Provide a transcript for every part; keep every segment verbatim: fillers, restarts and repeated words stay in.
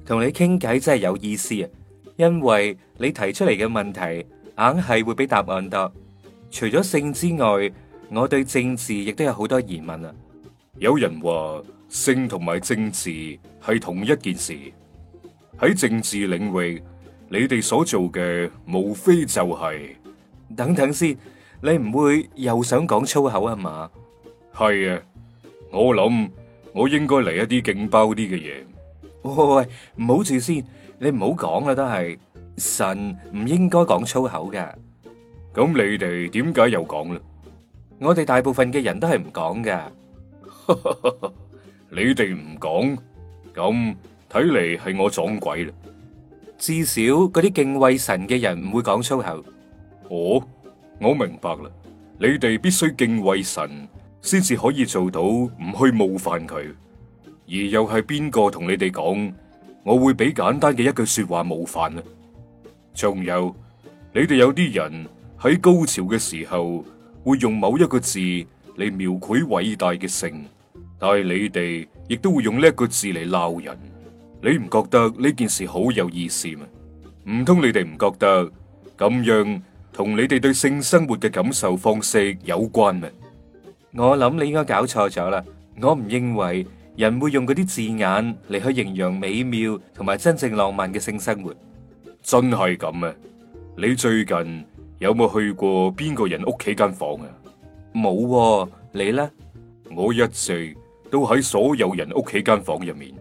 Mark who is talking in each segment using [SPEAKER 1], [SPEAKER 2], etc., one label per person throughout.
[SPEAKER 1] 同你傾偈真係有意思啊，因為你提出嚟嘅問題硬係會比答案多。除咗性之外，我對政治亦都有好多疑問啊。
[SPEAKER 2] 有人話性同埋政治係同一件事。喺政治領域，你哋所做嘅無非就係……
[SPEAKER 1] 等等先，你唔會又想講粗口啊嘛？
[SPEAKER 2] 係啊，我諗我應該嚟一啲勁爆啲嘅嘢。
[SPEAKER 1] 喂，唔好住先，你唔好講啦，都係神唔應該講粗口㗎。
[SPEAKER 2] 咁你哋點解又講啦？
[SPEAKER 1] 我哋大部分嘅人都係唔講噶。
[SPEAKER 2] 你哋唔講，咁睇嚟係我撞鬼啦。
[SPEAKER 1] 至少嗰啲敬畏神嘅人唔會講粗口。
[SPEAKER 2] 哦，我明白啦。你哋必須敬畏神，先至可以做到唔去冒犯佢。而又係邊個同你哋講，我會俾簡單嘅一句說話冒犯呢？仲有，你哋有啲人喺高潮嘅時候會用某一個字嚟描繪偉大嘅性，但係你哋亦都會用呢一個字嚟鬧人。你唔覺得呢件事好有意思咩？唔通你哋唔覺得咁樣同你哋對性生活嘅感受方式有關咩？
[SPEAKER 1] 我諗你應該搞錯咗啦。我唔認為人會用嗰啲字眼嚟去形容美妙同埋真正浪漫嘅性生活。
[SPEAKER 2] 真係咁咩？你最近有冇去過邊個人屋企間房啊？
[SPEAKER 1] 冇喎，你呢？
[SPEAKER 2] 我一直都喺所有人屋企間房入面。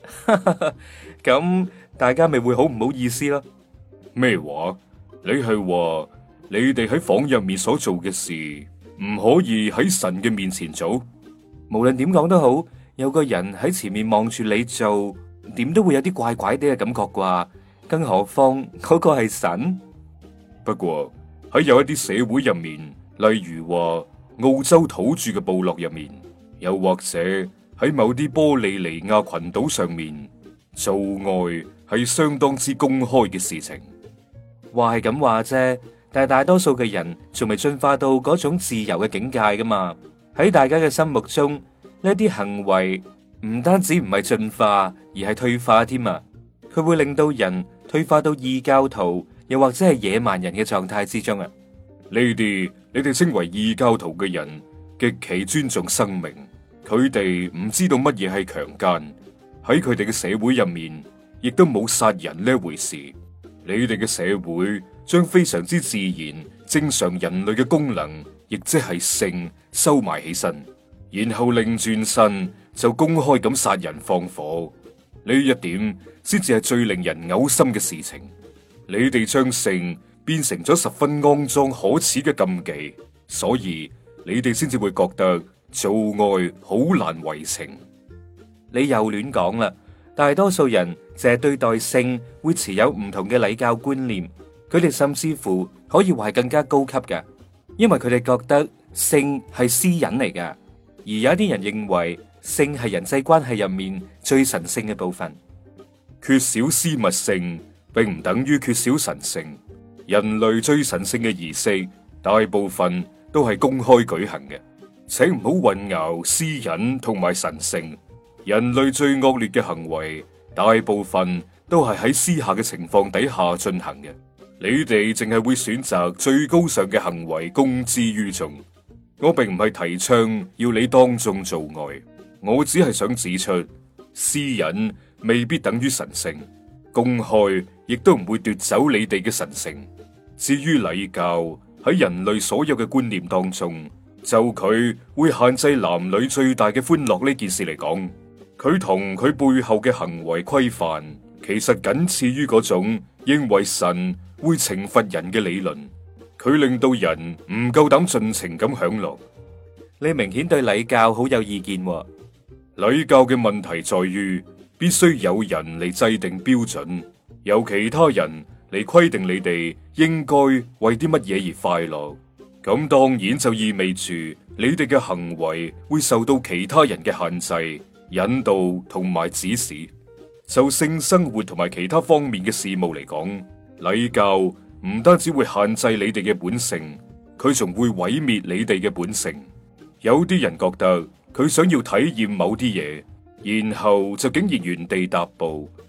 [SPEAKER 1] 咁大家咪會好唔好意思咯？
[SPEAKER 2] 咩話？你係話你哋喺房入面所做嘅事唔可以喺神嘅面前做？
[SPEAKER 1] 無論點講都好，有個人喺前面望住你做，點都會有啲怪怪哋嘅感覺啩？更何況嗰個係神。
[SPEAKER 2] 不過喺有一啲社會入面，例如話澳洲土著嘅部落入面，又或者喺某啲波利尼亞群島上面，做愛係相當之公開嘅事情。
[SPEAKER 1] 話係咁話啫，但係大多數嘅人仲未進化到嗰種自由嘅境界噶嘛。喺大家嘅心目中，呢啲行為唔單止唔係進化，而係退化添啊！佢會令到人退化到異教徒，又或者係野蠻人嘅狀態之中啊！
[SPEAKER 2] 呢啲你哋稱為異教徒嘅人，極其尊重生命，佢哋唔知道乜嘢係強姦，喺佢哋嘅社會入面，亦都冇殺人呢回事。你哋嘅社會將非常之自然、正常人類嘅功能，亦即係性收埋起身，然後擰轉身就公開咁殺人放火。呢一點先至係最令人嘔心嘅事情。你哋將性變成咗十分骯髒可恥嘅禁忌，所以你哋先至會覺得做愛好難為情。
[SPEAKER 1] 你又亂講啦！大多數人淨係對待性會持有唔同嘅禮教觀念，佢哋甚至乎可以話係更加高級嘅，因為佢哋覺得性係私隱嚟㗎。而有一啲人認為性係人際關係入面最神聖嘅部分。
[SPEAKER 2] 缺少私密性並唔等於缺少神聖。人類最神聖嘅儀式，大部分都係公開舉行嘅，請唔好混淆私隱同埋神聖。人類最惡劣嘅行為，大部分都係喺私下嘅情況底下進行嘅。你哋淨係會選擇最高尚嘅行為公之於眾。我並唔係提倡要你當眾做愛，我只係想指出，私隱未必等於神聖，公開亦都唔會奪走你哋嘅神聖。至於禮教喺人類所有嘅觀念當中，就佢會限制男女最大嘅歡樂呢件事嚟講，佢同佢背後嘅行為規範，其實僅次於嗰種認為神會懲罰人嘅理論。佢令到人唔夠膽盡情咁享樂。
[SPEAKER 1] 你明顯對禮教好有意見喎。
[SPEAKER 2] 禮教嘅問題在於，必須有人嚟制定標準，由其他人嚟規定你哋應該為啲乜嘢而快樂。咁當然就意味住你哋嘅行為會受到其他人嘅限制、引導同埋指示。就性生活同埋其他方面嘅事務嚟講，禮教唔單止會限制你哋嘅本性，佢仲會毀滅你哋嘅本性。有啲人覺得佢想要體驗某啲嘢，然後就竟然原地踏步，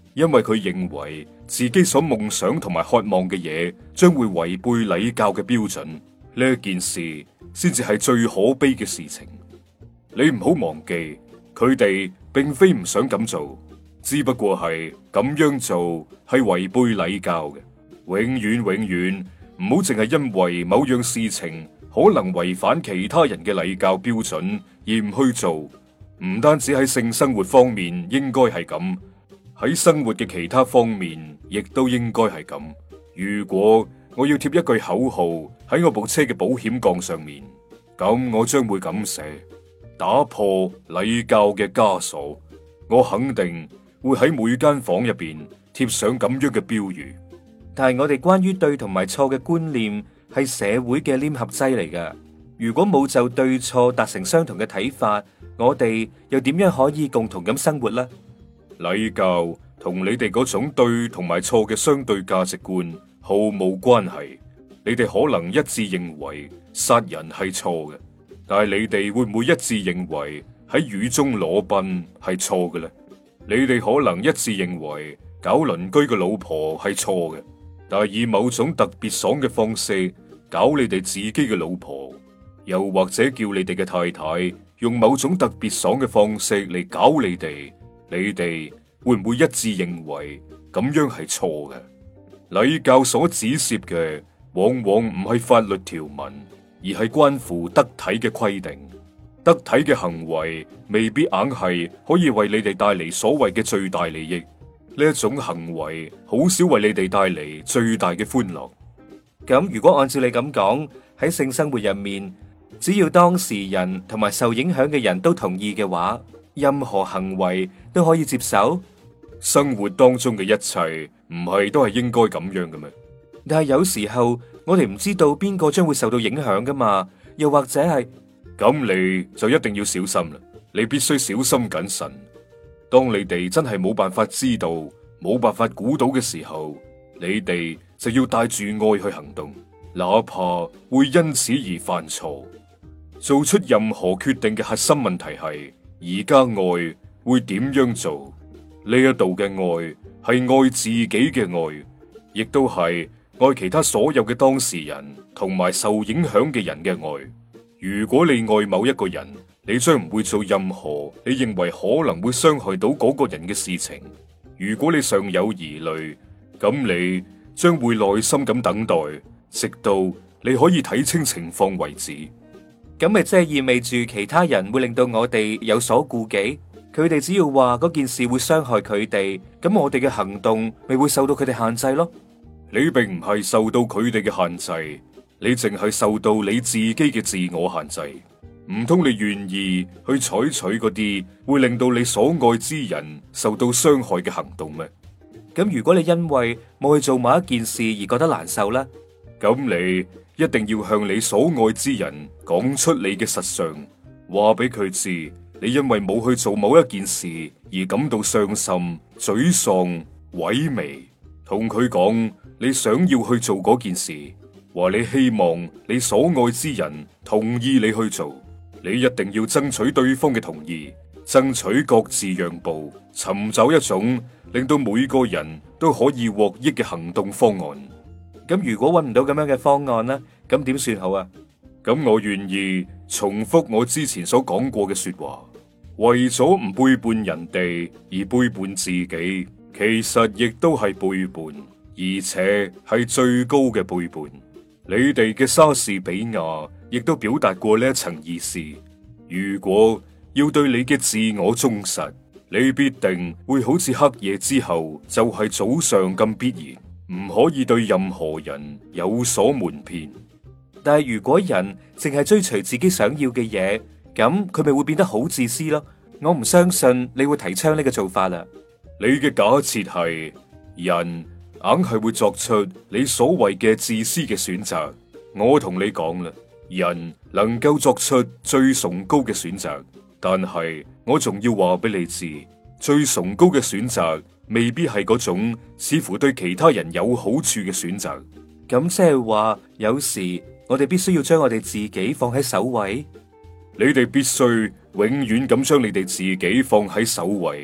[SPEAKER 2] 因為佢認為自己所夢想同埋渴望嘅嘢將會違背禮教嘅標準，呢件事先至係最可悲嘅事情。你唔好忘記，佢哋並非唔想咁做，只不過係咁樣做係違背禮教嘅。永遠永遠唔好淨係因為某樣事情可能違反其他人嘅禮教標準而唔去做。唔單止喺性生活方面應該係咁，喺生活嘅其他方面亦都應該係咁。如果我要貼一句口號喺我部車嘅保險槓上面，咁我將會咁寫：打破禮教嘅枷鎖。我肯定會喺每間房入邊貼上咁樣嘅標語。
[SPEAKER 1] 但係我哋關於對同埋錯嘅觀念係社會嘅黏合劑嚟㗎。如果冇就對錯達成相同嘅睇法，我哋又點樣可以共同咁生活呢？
[SPEAKER 2] 禮教同你哋嗰種對同埋錯嘅相對價值觀毫無關係。你哋可能一致認為殺人係錯嘅，但係你哋會唔會一致認為喺雨中裸奔係錯嘅咧？你哋可能一致認為搞鄰居嘅老婆係錯嘅，但係以某種特別爽嘅方式搞你哋自己嘅老婆，又或者叫你哋嘅太太用某種特別爽嘅方式嚟搞你哋，你哋會唔會一致認為咁樣係錯嘅？禮教所指涉嘅往往唔係法律條文，而係關乎得體嘅規定。得體嘅行為未必硬係可以為你哋帶嚟所謂嘅最大利益。呢一種行為好少為你哋帶嚟最大嘅歡樂。
[SPEAKER 1] 咁如果按照你咁講，喺性生活入面，只要當事人同埋受影響嘅人都同意嘅話，任何行為都可以接受。
[SPEAKER 2] 生活當中嘅一切唔係都係應該咁樣嘅咩？
[SPEAKER 1] 但係有時候我哋唔知道邊個將會受到影響噶嘛，又或者係
[SPEAKER 2] 咁，你就一定要小心啦。你必須小心謹慎。當你哋真係冇辦法知道、冇辦法估到嘅時候，你哋就要帶住愛去行動，哪怕會因此而犯錯。做出任何決定嘅核心問題係：而家愛會點樣做？呢一度嘅愛係愛自己嘅愛，亦都係愛其他所有嘅當事人同埋受影響嘅人嘅愛。如果你愛某一個人，你將唔會做任何你認為可能會傷害到嗰個人嘅事情。如果你尚有疑慮，咁你將會耐心咁等待，直到你可以睇清情況為止。
[SPEAKER 1] 咁咪即係意味住其他人會令到我哋有所顧忌？佢哋只要話嗰件事會傷害佢哋，咁我哋嘅行動咪會受到佢哋限制咯？
[SPEAKER 2] 你並唔係受到佢哋嘅限制。你淨係受到你自己嘅自我限制。唔通你願意去採取嗰啲會令到你所愛之人受到傷害嘅行動咩？
[SPEAKER 1] 咁如果你因為冇去做某一件事而覺得難受呢？
[SPEAKER 2] 咁你一定要向你所愛之人講出你嘅實相，話俾佢知你因為冇去做某一件事而感到傷心、沮喪、萎靡，同佢講你想要去做嗰件事。話你希望你所愛之人同意你去做，你一定要爭取對方嘅同意，爭取各自讓步，尋找一種令到每個人都可以獲益嘅行動方案。
[SPEAKER 1] 咁如果揾唔到咁樣嘅方案呢？咁點算好啊？
[SPEAKER 2] 咁我願意重複我之前所講過嘅說話，為咗唔背叛人哋而背叛自己，其實亦都係背叛，而且係最高嘅背叛。你哋嘅莎士比亞亦都表達過呢一層意思。如果要對你嘅自我忠實，你必定會好似黑夜之後就係早上咁必然，唔可以對任何人有所瞞騙。
[SPEAKER 1] 但係如果人淨係追隨自己想要嘅嘢，咁佢咪會變得好自私咯？我唔相信你會提倡呢個做法啦。
[SPEAKER 2] 你嘅假設係人硬係會作出你所謂嘅自私嘅選擇。我同你講啦，人能夠作出最崇高嘅選擇，但係我仲要話俾你知，最崇高嘅選擇未必係嗰種似乎對其他人有好處嘅選擇。
[SPEAKER 1] 咁即係話，有時我哋必須要將我哋自己放喺首位。
[SPEAKER 2] 你哋必須永遠咁將你哋自己放喺首位。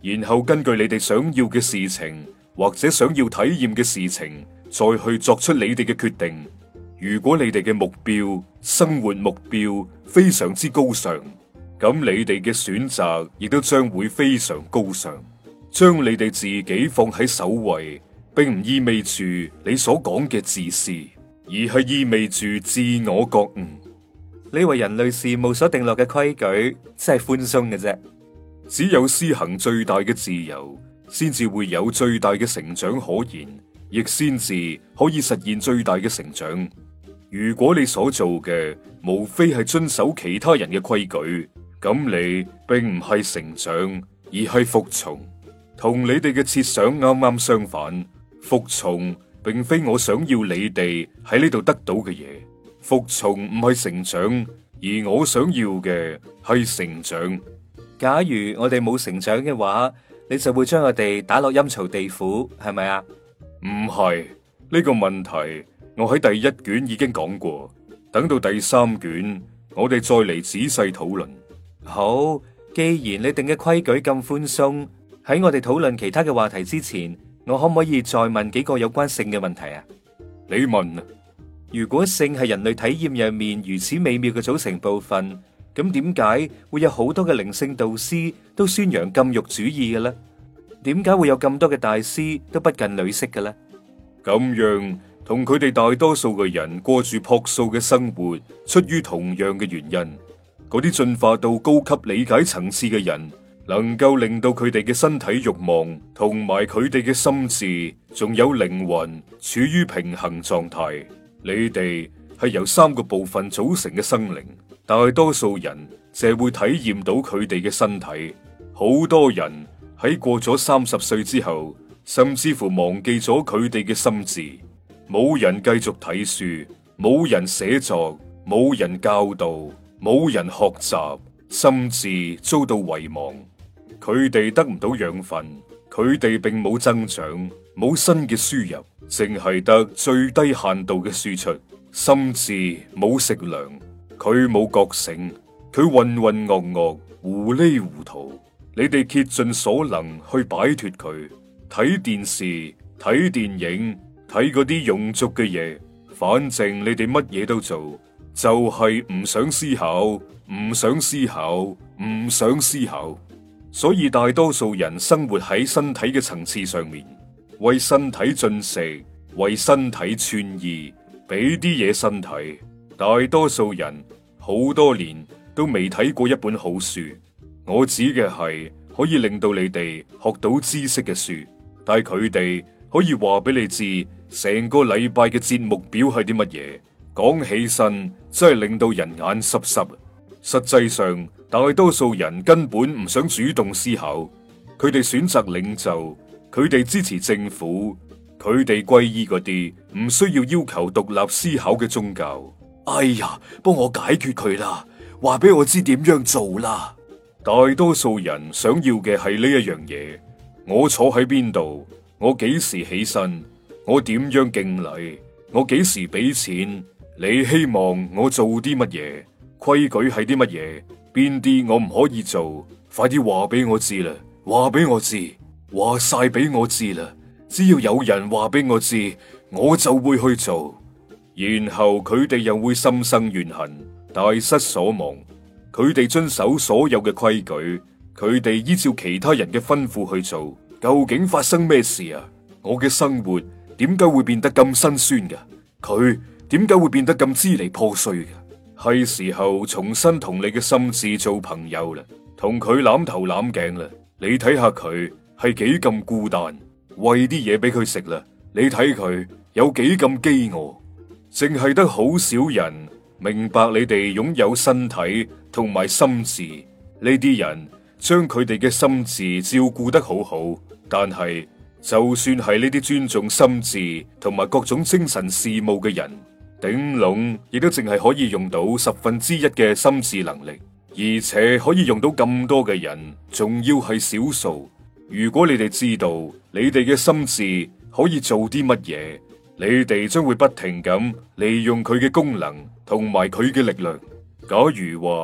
[SPEAKER 2] 然後根據你哋想要嘅事情或者想要體驗嘅事情，再去作出你哋嘅決定。如果你哋嘅目標、生活目標非常之高尚，咁你哋嘅選擇亦都將會非常高尚。將你哋自己放喺首位，並唔意味住你所講嘅自私，而係意味住自我覺悟。
[SPEAKER 1] 你為人類事務所定落嘅規矩，真係寬鬆嘅啫。
[SPEAKER 2] 只有施行最大嘅自由，先至會有最大嘅成長可言，亦先至可以實現最大嘅成長。如果你所做嘅無非係遵守其他人嘅規矩，咁你並唔係成長，而係服從。同你哋嘅設想啱啱相反，服從並非我想要你哋喺呢度得到嘅嘢。服從唔係成長，而我想要嘅係成長。
[SPEAKER 1] 假如我哋冇成長嘅話，你就會將我哋打落陰曹地府，係咪啊？
[SPEAKER 2] 唔係，呢個問題，我喺第一卷已經講過，等到第三卷，我哋再嚟仔細討論。
[SPEAKER 1] 好，既然你定嘅規矩咁寬鬆，喺我哋討論其他嘅話題之前，我可唔可以再問幾個有關性嘅問題啊？
[SPEAKER 2] 你問啊。
[SPEAKER 1] 如果性係人類體驗入面如此美妙嘅組成部分，咁點解會有好多嘅靈性導師都宣揚禁欲主義嘅咧？點解會有咁多嘅大師都不近女色嘅咧？
[SPEAKER 2] 咁樣同佢哋大多數嘅人過住樸素嘅生活，出於同樣嘅原因。嗰啲進化到高級理解層次嘅人，能夠令到佢哋嘅身體慾望同埋佢哋嘅心智，仲有靈魂處於平衡狀態。你哋係由三個部分組成嘅生靈，大多數人淨係會體驗到佢哋嘅身體。好多人喺過咗三十歲之後，甚至乎忘記咗佢哋嘅心智。冇人繼續睇書，冇人寫作，冇人教導，冇人學習，心智遭到遺忘。佢哋得唔到養分，佢哋並冇增長，冇新嘅輸入，淨係得最低限度嘅輸出。心智冇食糧，佢冇覺醒，佢渾渾噩噩，糊裏糊塗。你哋竭盡所能去擺脫佢，睇電視、睇電影、睇嗰啲庸俗嘅嘢，反正你哋乜嘢都做，就係唔想思考，唔想思考，唔想思考。所以大多數人生活喺身體嘅層次上面，為身體進食，為身體穿衣，俾啲嘢身體。大多數人好多年都未睇過一本好書，我指嘅係可以令到你哋學到知識嘅書，但係佢哋可以話俾你知成個禮拜嘅節目表係啲乜嘢，講起身真係令到人眼濕濕。實際上，大多數人根本唔想主動思考，佢哋選擇領袖，佢哋支持政府，佢哋皈依嗰啲唔需要要求獨立思考嘅宗教。
[SPEAKER 3] 哎呀，幫我解決佢啦，話俾我知點樣做啦。
[SPEAKER 2] 大多數人想要嘅係呢一樣嘢，我坐喺邊度，我幾時起身，我點樣敬禮，我幾時俾錢，你希望我做啲乜嘢，規矩係啲乜嘢，邊啲我唔可以做，快啲話俾我知啦，話俾我知，話晒俾我知啦，只要有人話俾我知，我就會去做。然後佢哋又會心生怨恨，大失所望。佢哋遵守所有嘅規矩，佢哋依照其他人嘅吩咐去做。究竟發生咩事啊？我嘅生活點解會變得咁辛酸㗎？佢點解會變得咁支離破碎㗎？係時候重新同你嘅心智做朋友啦，同佢攬頭攬頸啦。你睇下佢係幾咁孤單，餵啲嘢俾佢食啦。你睇佢有幾咁飢餓，淨係得好少人明白你哋擁有身體同埋心智。呢啲人將佢哋嘅心智照顧得好好，但係就算係呢啲尊重心智同埋各種精神事務嘅人，頂籠亦都淨係可以用到十分之一嘅心智能力，而且可以用到咁多嘅人，仲要係少數。如果你哋知道你哋嘅心智可以做啲乜嘢，你哋將會不停咁利用佢嘅功能同埋佢嘅力量。假如話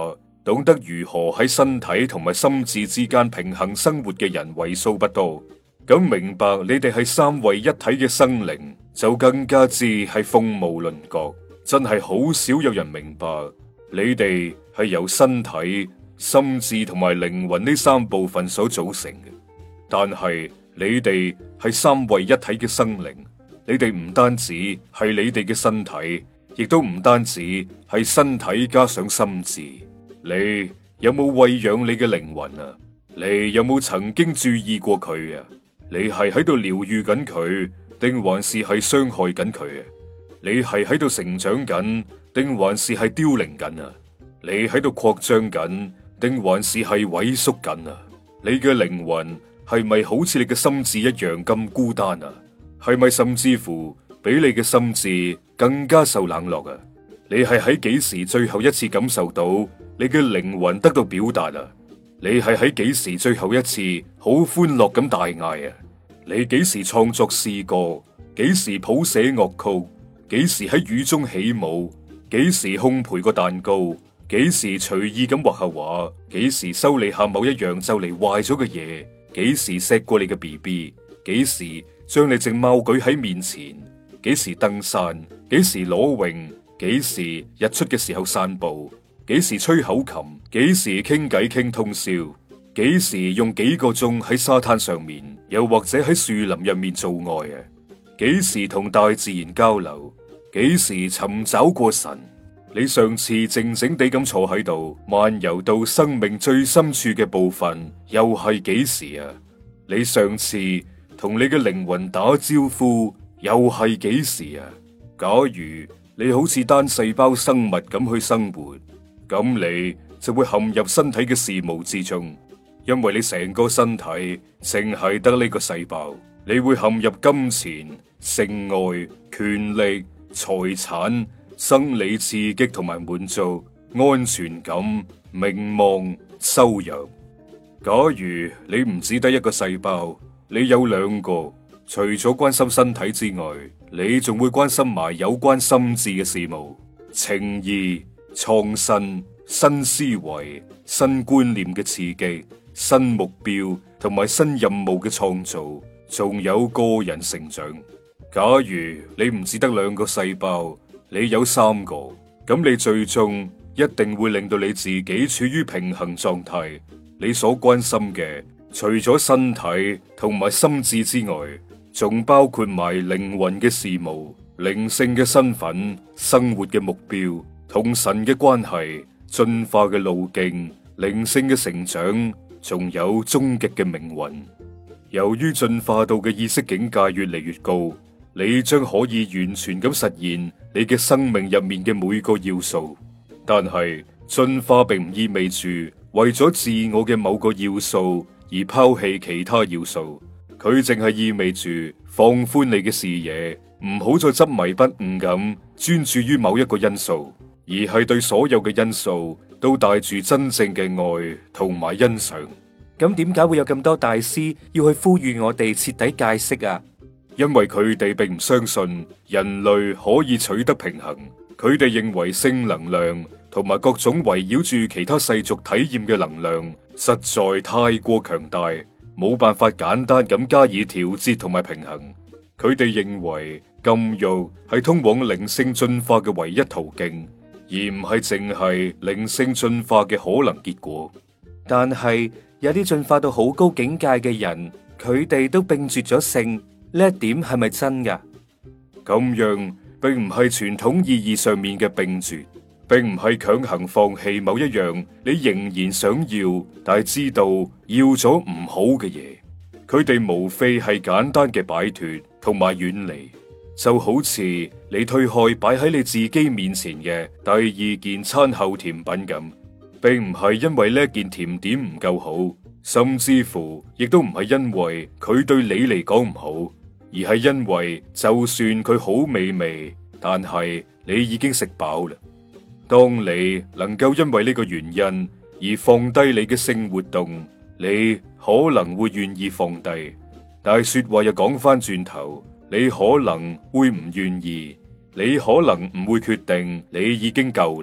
[SPEAKER 2] 懂得如何喺身體同埋心智之間平衡生活嘅人為數不多。咁明白你哋係三位一體嘅生靈，就更加之係鳳毛麟角。真係好少有人明白，你哋係由身體、心智同埋靈魂呢三部分所組成嘅。但係你哋係三位一體嘅生靈，你哋唔單止係你哋嘅身體，亦都唔單止係身體加上心智。你有冇餵養你嘅靈魂啊？你有冇曾經注意過佢啊？你係喺度療愈緊佢，定還是係傷害緊佢啊？你係喺度成長緊，定還是係凋零緊啊？你喺度擴張緊，定還是係萎縮緊啊？你嘅靈魂係咪好似你嘅心智一樣咁孤單啊？係咪甚至乎比你嘅心智更加受冷落啊？你係喺幾時最後一次感受到你嘅靈魂得到表達啊？你係喺幾時最後一次好歡樂咁大嗌啊？你幾時創作詩歌？幾時譜寫樂曲？幾時喺雨中起舞？幾時烘焙個蛋糕？幾時隨意咁畫下畫？幾時修理下某一樣就嚟壞咗嘅嘢？幾時錫過你嘅 B B？ 幾時將你隻貓舉喺面前？幾時登山？幾時裸泳？幾時日出嘅時候散步？幾時吹口琴？幾時傾偈傾通宵？幾時用幾個鐘喺沙灘上面，又或者喺樹林入面做愛啊？幾時同大自然交流？幾時尋找過神？你上次靜靜地咁坐喺度，漫遊到生命最深處嘅部分，又係幾時啊？你上次同你嘅靈魂打招呼，又係幾時啊？假如你好似單細胞生物咁去生活，咁你就會陷入身體嘅事務之中，因為你成個身體淨係得呢個細胞，你會陷入金錢、性愛、權力、財產、生理刺激同埋滿足、安全感、名望、收入。假如你唔只得一個細胞，你有兩個，除咗關心身體之外，你仲會關心埋有關心智嘅事務、情意、創新、新思維、新觀念嘅刺激、新目標同埋新任務嘅創造，仲有個人成長。假如你唔只得兩個細胞，你有三個，咁你最終一定會令到你自己處於平衡狀態。你所關心嘅，除咗身體同埋心智之外，仲包括埋靈魂嘅事務、靈性嘅身份、生活嘅目標、同神嘅關係、進化嘅路徑、靈性嘅成長，仲有終極嘅命運。由於進化到嘅意識境界越嚟越高，你將可以完全咁實現你嘅生命入面嘅每個要素。但係進化並唔意味住為咗自我嘅某個要素而拋棄其他要素，佢淨係意味住放寬你嘅視野，唔好再執迷不悟咁專注於某一個因素，而係對所有嘅因素都帶住真正嘅愛同埋欣賞。
[SPEAKER 1] 咁點解會有咁多大師要去呼籲我哋徹底戒色啊？
[SPEAKER 2] 因為佢哋並唔相信人類可以取得平衡，佢哋認為性能量同埋各種圍繞住其他世俗體驗嘅能量實在太過強大，冇辦法簡單咁加以調節同埋平衡。佢哋認為禁欲係通往靈性進化嘅唯一途徑，而唔係淨係靈性進化嘅可能結果。
[SPEAKER 1] 但係有啲進化到好高境界嘅人，佢哋都並絕咗性。呢一點係咪真噶？
[SPEAKER 2] 咁樣並唔係傳統意義上面嘅並絕，並唔係強行放棄某一樣你仍然想要，但係知道要咗唔好嘅嘢。佢哋無非係簡單嘅擺脫同埋遠離，就好似你推開擺喺你自己面前嘅第二件餐後甜品咁，並唔係因為呢件甜點唔夠好，甚至乎亦都唔係因為佢對你嚟講唔好。而係因為就算佢好美味，但係你已經食飽啦。當你能夠因為呢個原因而放低你嘅性活動，你可能會願意放低。但係說話又講翻轉頭，你可能會唔願意，你可能唔會決定你已經夠啦。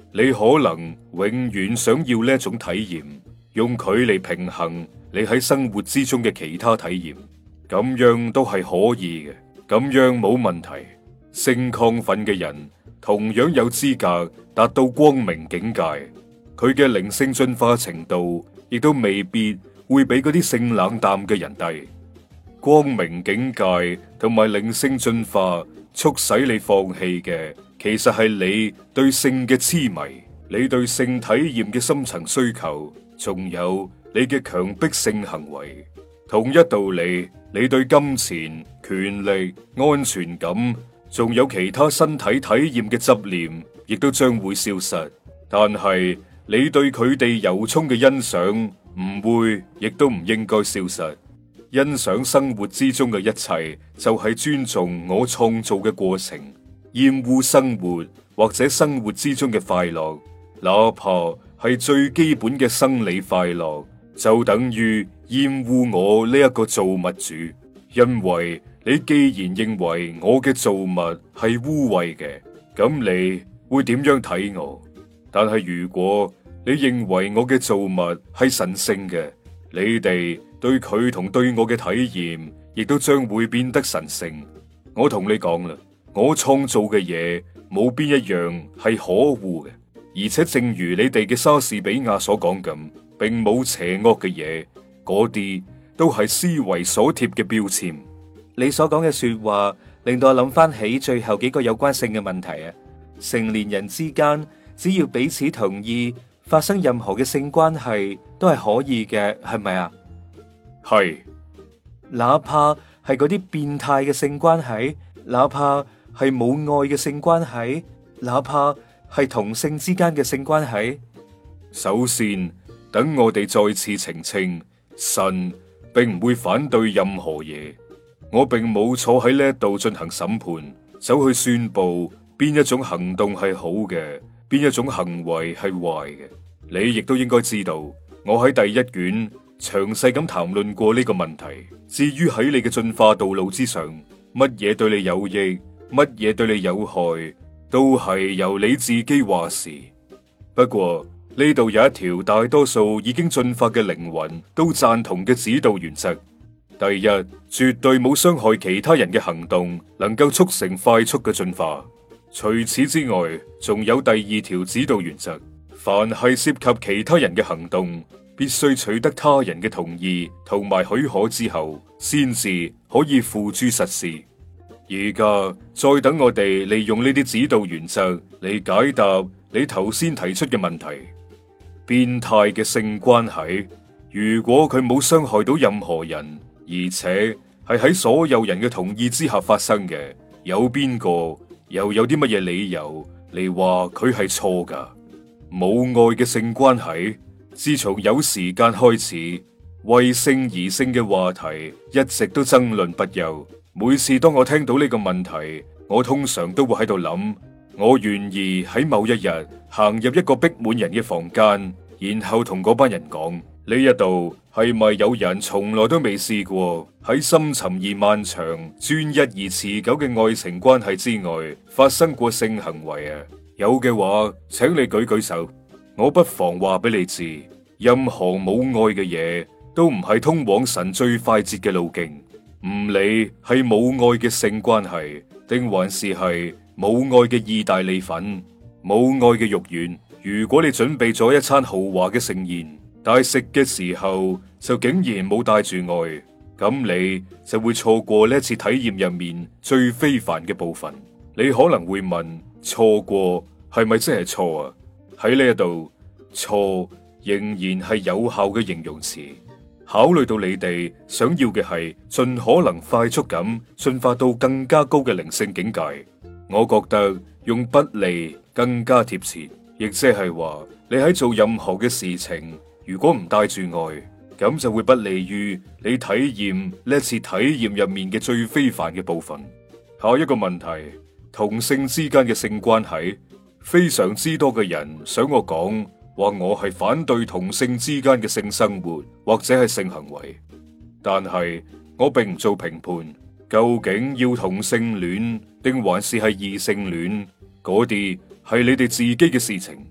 [SPEAKER 2] 你可能永遠想要呢一種體驗，用佢嚟平衡你喺生活之中嘅其他體驗，咁樣都係可以嘅，咁樣冇問題。性亢奮嘅人同樣有資格達到光明境界，佢嘅靈性進化程度亦都未必會比嗰啲性冷淡嘅人低。光明境界同埋靈性進化促使你放棄嘅，其實係你對性嘅痴迷，你對性體驗嘅深層需求，仲有你嘅強迫性行為。同一道理，你對金錢、權力、安全感，仲有其他身體體驗嘅執念，亦都將會消失。但係你對佢哋由衷嘅欣賞，唔會，亦都唔應該消失。欣賞生活之中嘅一切，就係尊重我創造嘅過程。厭惡生活或者生活之中嘅快樂，哪怕係最基本嘅生理快樂，就等於厭惡我呢一個造物主。因為你既然認為我嘅造物係污穢嘅，咁你會點樣睇我？但係如果你認為我嘅造物係神聖嘅，你哋對佢同對我嘅體驗，亦都將會變得神聖。我同你講啦，我創造嘅嘢冇邊一樣係可惡嘅，而且正如你哋嘅莎士比亞所講咁，並冇邪惡嘅嘢，嗰啲都係思維所貼嘅標籤。
[SPEAKER 1] 你所講嘅說話令到我諗翻起最後幾個有關性嘅問題啊！成年人之間只要彼此同意，發生任何嘅性關係都係可以嘅，係咪啊？
[SPEAKER 2] 係，
[SPEAKER 1] 哪怕係嗰啲變態嘅性關係，哪怕係冇愛嘅性關係，哪怕係同性之間嘅性關係。
[SPEAKER 2] 首先，等我哋再次澄清，神並唔會反對任何嘢。我並冇坐喺呢一度進行審判，走去宣布邊一種行動係好嘅，邊一種行為係壞嘅。你亦都應該知道，我喺第一卷詳細咁談論過呢個問題。至於喺你嘅進化道路之上，乜嘢對你有益，乜嘢對你有害，都係由你自己話事。不過呢度有一條大多數已經進化嘅靈魂都贊同嘅指導原則。第一，絕對冇傷害其他人嘅行動能夠促成快速嘅進化。除此之外，仲有第二條指導原則：凡係涉及其他人嘅行動，必須取得他人嘅同意同埋許可之後，先至可以付諸實施。而家再等我哋利用呢啲指導原則嚟解答你頭先提出嘅問題。變態嘅性關係，如果佢冇傷害到任何人，而且係喺所有人嘅同意之下發生嘅，有邊個又有啲乜嘢理由嚟話佢係錯㗎？冇愛嘅性關係，自從有時間開始，為性而性嘅話題一直都爭論不休。每次當我聽到呢個問題，我通常都會喺度諗，我願意喺某一日行入一個逼滿人嘅房間，然後同嗰班人講。呢一度係咪有人從來都未試過喺深沉而漫長、專一而持久嘅愛情關係之外發生過性行為啊？有嘅話，請你舉舉手。我不妨話俾你知，任何冇愛嘅嘢都唔係通往神最快捷嘅路徑。唔理係冇愛嘅性關係，定還是係冇愛嘅意大利粉、冇愛嘅肉丸。如果你準備咗一餐豪華嘅盛宴，但係食嘅時候就竟然冇帶住愛，咁你就會錯過呢次體驗入面最非凡嘅部分。你可能會問：錯過係咪真係錯啊？喺呢一度，錯仍然係有效嘅形容詞。考慮到你哋想要嘅係盡可能快速咁進化到更加高嘅靈性境界，我覺得用不利更加貼切，亦即係話你喺做任何嘅事情，如果唔帶住愛，咁就會不利於你體驗呢次體驗入面嘅最非凡嘅部分。下一個問題，同性之間嘅性關係，非常之多嘅人想我講話我係反對同性之間嘅性生活或者係性行為，但係我並唔做評判，究竟要同性戀定還是係異性戀，嗰啲係你哋自己嘅事情。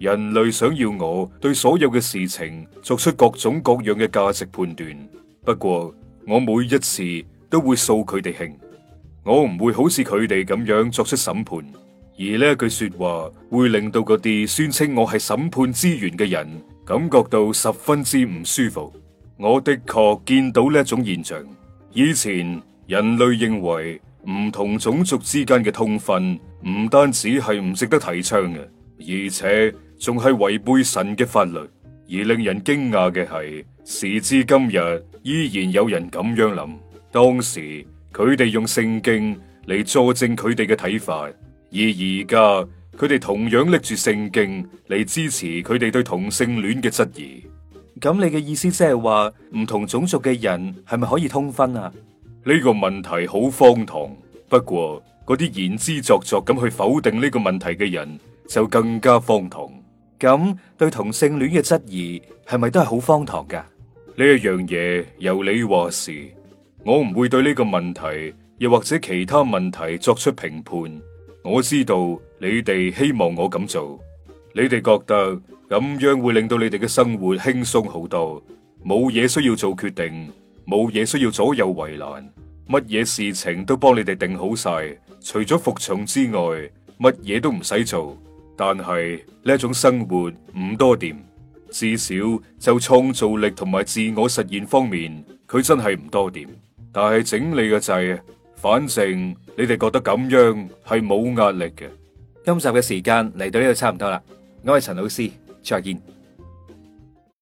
[SPEAKER 2] 人類想要我對所有嘅事情作出各種各樣嘅價值判斷，不過我每一次都會掃佢哋興，我唔會好似佢哋咁樣作出審判。而呢一句說話會令到嗰啲宣稱我係審判之源嘅人感覺到十分之唔舒服。我的確見到呢一種現象。以前人類認為唔同種族之間嘅通婚唔單止係唔值得提倡嘅，而且仲係違背神嘅法律。而令人驚訝嘅係，時至今日依然有人咁樣諗。當時佢哋用聖經嚟佐證佢哋嘅睇法，而而家佢哋同樣拎住聖經嚟支持佢哋對同性戀嘅質疑。
[SPEAKER 1] 咁你嘅意思即係話唔同種族嘅人係咪可以通婚啊？
[SPEAKER 2] 呢個問題好荒唐，不過嗰啲言之鑿鑿咁去否定呢個問題嘅人就更加荒唐。
[SPEAKER 1] 咁對同性戀嘅質疑係咪都係好荒唐噶？
[SPEAKER 2] 呢一樣嘢由你話事，我唔會對呢個問題又或者其他問題作出評判。我知道你哋希望我咁做，你哋覺得咁樣會令到你哋嘅生活輕鬆好多，冇嘢需要做決定，冇嘢需要左右為難，乜嘢事情都幫你哋定好晒，除咗服從之外，乜嘢都唔使做。但係呢一種生活唔多掂，至少就創造力同埋自我實現方面，佢真係唔多掂。但係整理嘅掣，反正你哋覺得咁樣係冇壓力嘅。
[SPEAKER 1] 今集嘅時間嚟到呢度差唔多啦，我係陳老師，再見。